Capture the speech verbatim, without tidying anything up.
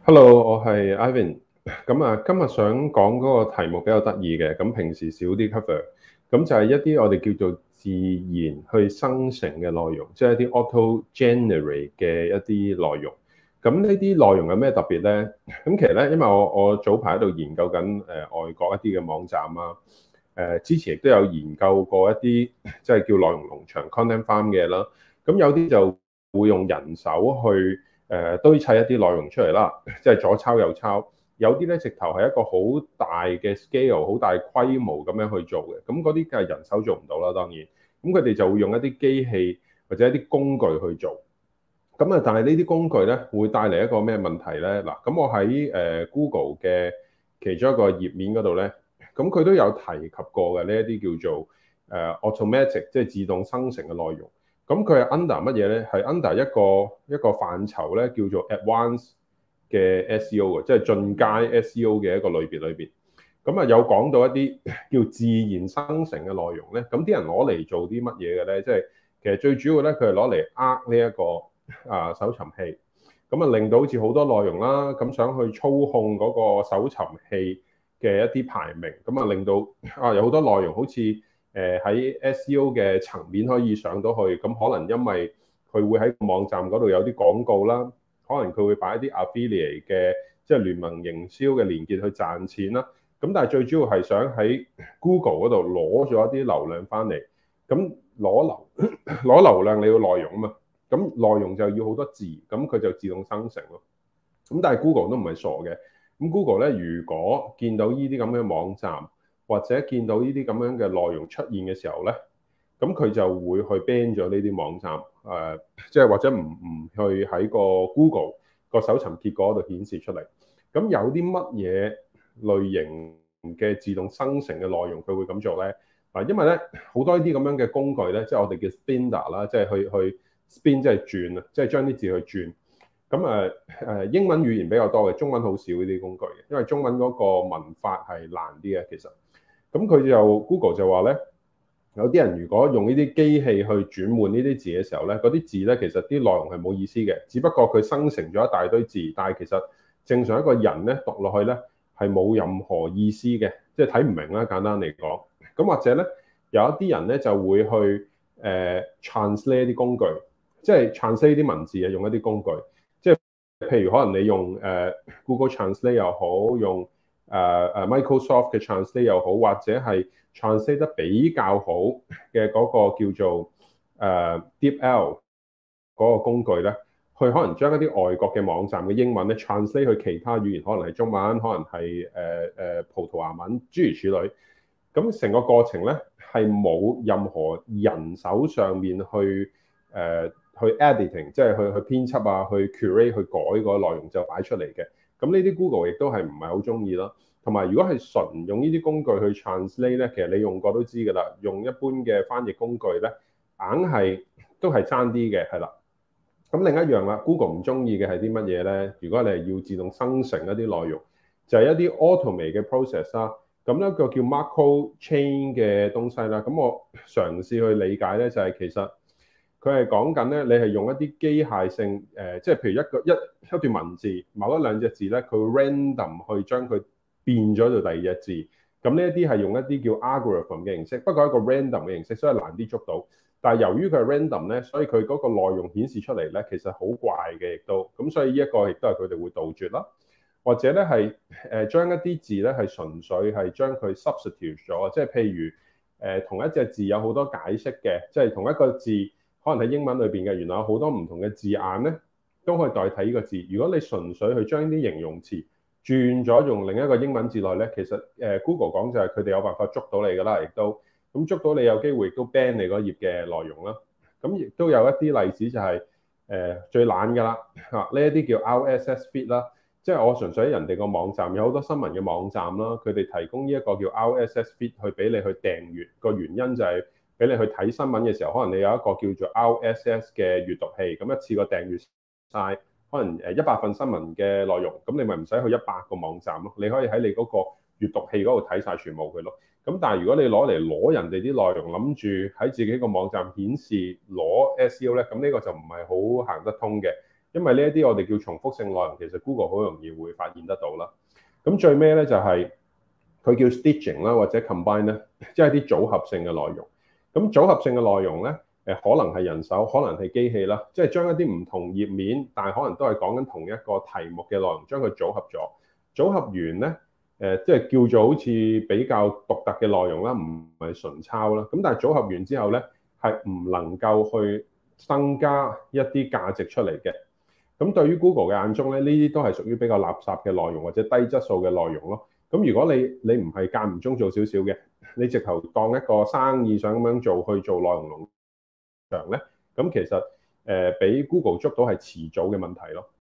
Hello，我係 Ivan。咁啊，今日想講嗰個題目比較得意嘅，咁平時少啲 cover。咁就係一啲我哋叫做自然去生成嘅內容，即係一啲 auto generate 嘅一啲內容。咁呢啲內容有咩特別呢？咁其實咧，因為我我早排喺度研究緊誒、呃、外國一啲嘅網站啊，誒之前亦都有研究過一啲即係叫內容農場 content farm 嘅啦。咁有啲就會用人手去誒堆砌一啲內容出嚟啦，即係左抄右抄。有啲咧直頭係一個好大嘅 scale、好大規模咁樣去做嘅。咁嗰啲梗係人手做唔到啦，當然。咁佢哋就會用一啲機器或者一啲工具去做。咁啊，但係呢啲工具咧會帶嚟一個咩問題咧？嗱，咁我喺誒 Google 嘅其中一個頁面嗰度咧，咁佢都有提及過嘅呢一啲叫做誒 automatic，即係自動生成嘅內容。咁佢係 under 乜嘢咧？係 under 一個一個範疇咧，叫做 advanced 嘅 S E O 嘅，即係進階 S E O 嘅一個類別裏邊。咁啊，有講到一啲叫自然生成嘅內容咧。咁啲人攞嚟做啲乜嘢嘅咧？即係其實最主要咧，佢係攞嚟呃呢一個啊搜尋器。咁啊，令到好似好多內容啦，咁想去操控嗰個搜尋器嘅一啲排名，咁啊令到啊有好多內容好似誒喺 S E O 嘅層面可以上到去，咁可能因為佢會喺網站嗰度有啲廣告啦，可能佢會擺一啲 affiliate 嘅即係聯盟營銷嘅連結去賺錢啦。咁但係最主要係想喺 Google 嗰度攞咗一啲流量翻嚟，咁攞流攞流量你要內容啊嘛，咁內容就要好多字，咁佢就自動生成咯。咁但係 Google 都唔係傻嘅，咁 Google 咧如果見到呢啲咁嘅網站或者見到呢啲咁樣嘅內容出現嘅時候咧，咁佢就會去 ban 咗呢啲網站，誒、呃，即係或者唔唔去喺個 Google 個搜尋結果度顯示出嚟。咁有啲乜嘢類型嘅自動生成嘅內容佢會咁做咧？啊，因為咧好多呢啲咁樣嘅工具咧，即係我哋叫 spinner 啦，即係去去 spin 即係轉啊，即係將啲字去轉。咁誒誒英文語言比較多嘅，中文好少呢啲工具嘅，因為中文嗰個文法係難啲嘅其實。咁佢就 Google 就話咧，有啲人如果用呢啲機器去轉換呢啲字嘅時候咧，嗰啲字咧其實啲內容係冇意思嘅，只不過佢生成咗一大堆字，但係其實正常一個人咧讀落去咧係冇任何意思嘅，即係睇唔明啦。簡單嚟講，咁或者咧有一啲人咧就會去誒、呃、translate 啲工具，即係 translate 啲文字啊，用一啲工具，即係譬如可能你用誒、呃、Google Translate 又好，用誒誒、呃、Microsoft 嘅 Translate 又好，或者係 translate 得比較好嘅嗰個叫做誒、呃、DeepL 嗰個工具咧，去可能將一啲外國嘅網站嘅英文咧 translate 去其他語言，可能係中文，可能係誒誒葡萄牙文，諸如此類。咁成個過程咧係冇任何人手上面去誒、呃、去 editing，即係去去編輯啊，去 curate 去改個內容就擺出嚟嘅。咁呢啲 Google 亦都係唔係好中意啦。同埋如果係純用呢啲工具去 translate 咧，其實你用過都知㗎啦。用一般嘅翻譯工具咧，硬係都係爭啲嘅，係啦。咁另一樣啦 ，Google 唔中意嘅係啲乜嘢咧？如果你係要自動生成一啲內容，就係、是、一啲 automate 嘅 process 啦。咁咧個叫 Macro Chain 嘅東西啦。咁我嘗試去理解咧，就係、是、其實佢係講緊咧，你係用一啲機械性誒、呃，即係譬如一個一一段文字，某一兩隻字咧，佢會 random 去將佢變咗做第二隻字。咁呢一啲係用一啲叫 algorithm 嘅形式，不過係一個 random 嘅形式，所以難啲捉到。但係由於佢係 random 咧，所以佢嗰個內容顯示出嚟咧，其實好怪嘅，亦都咁，所以呢一個亦都係佢哋會杜絕啦。或者咧係誒將一啲字咧係純粹係將佢 substitute 咗，即係譬如誒、呃、同一隻字有好多解釋嘅，即係同一個字可能喺英文裏邊嘅，原來有好多唔同嘅字眼咧都可以代替呢個字。如果你純粹去將啲形容詞轉咗用另一個英文字內咧，其實誒、呃、Google 講就係佢哋有辦法捉到你㗎啦，亦都咁捉到你有機會亦都 ban 你嗰頁嘅內容啦。咁亦都有一啲例子就係、是、誒、呃、最懶㗎啦嚇，呢一啲叫 R S S feed 啦。即係我純粹喺人哋個網站有好多新聞嘅網站啦，佢哋提供呢一個叫 R S S feed 去俾你去訂閱，個原因就係俾你去睇新聞嘅時候，可能你有一個叫做 R S S 嘅閲讀器，咁一次過訂閱晒可能誒一百份新聞嘅內容，咁你咪唔使去一百個網站咯，你可以喺你嗰個閲讀器嗰度睇晒全部佢咯。咁但係如果你攞嚟攞人哋啲內容，諗住喺自己個網站顯示攞 S E O 咧，咁呢個就唔係好行得通嘅。 因為呢一啲我哋叫重複性內容，其實 Google 好容易會發現得到啦。咁最尾咧就係佢叫 stitching 啦，或者 combine 咧，即係啲組合性嘅內容。咁組合性嘅內容咧，誒可能係人手，可能係機器啦，即係將一啲唔同頁面，但係可能都係講緊同一個題目嘅內容，將佢組合咗。組合完咧，誒即係叫做好似比較獨特嘅內容啦，唔係純抄啦。咁但係組合完之後咧，係唔能夠去增加一啲價值出嚟嘅。咁對於 Google 嘅眼中咧，呢啲都係屬於比較垃圾嘅內容或者低質素嘅內容咯。咁如果你你唔係間唔中做少少嘅，你直頭當一個生意想咁樣做去做內容農場咧，咁其實誒俾、呃、Google 捉到係遲早嘅問題咯。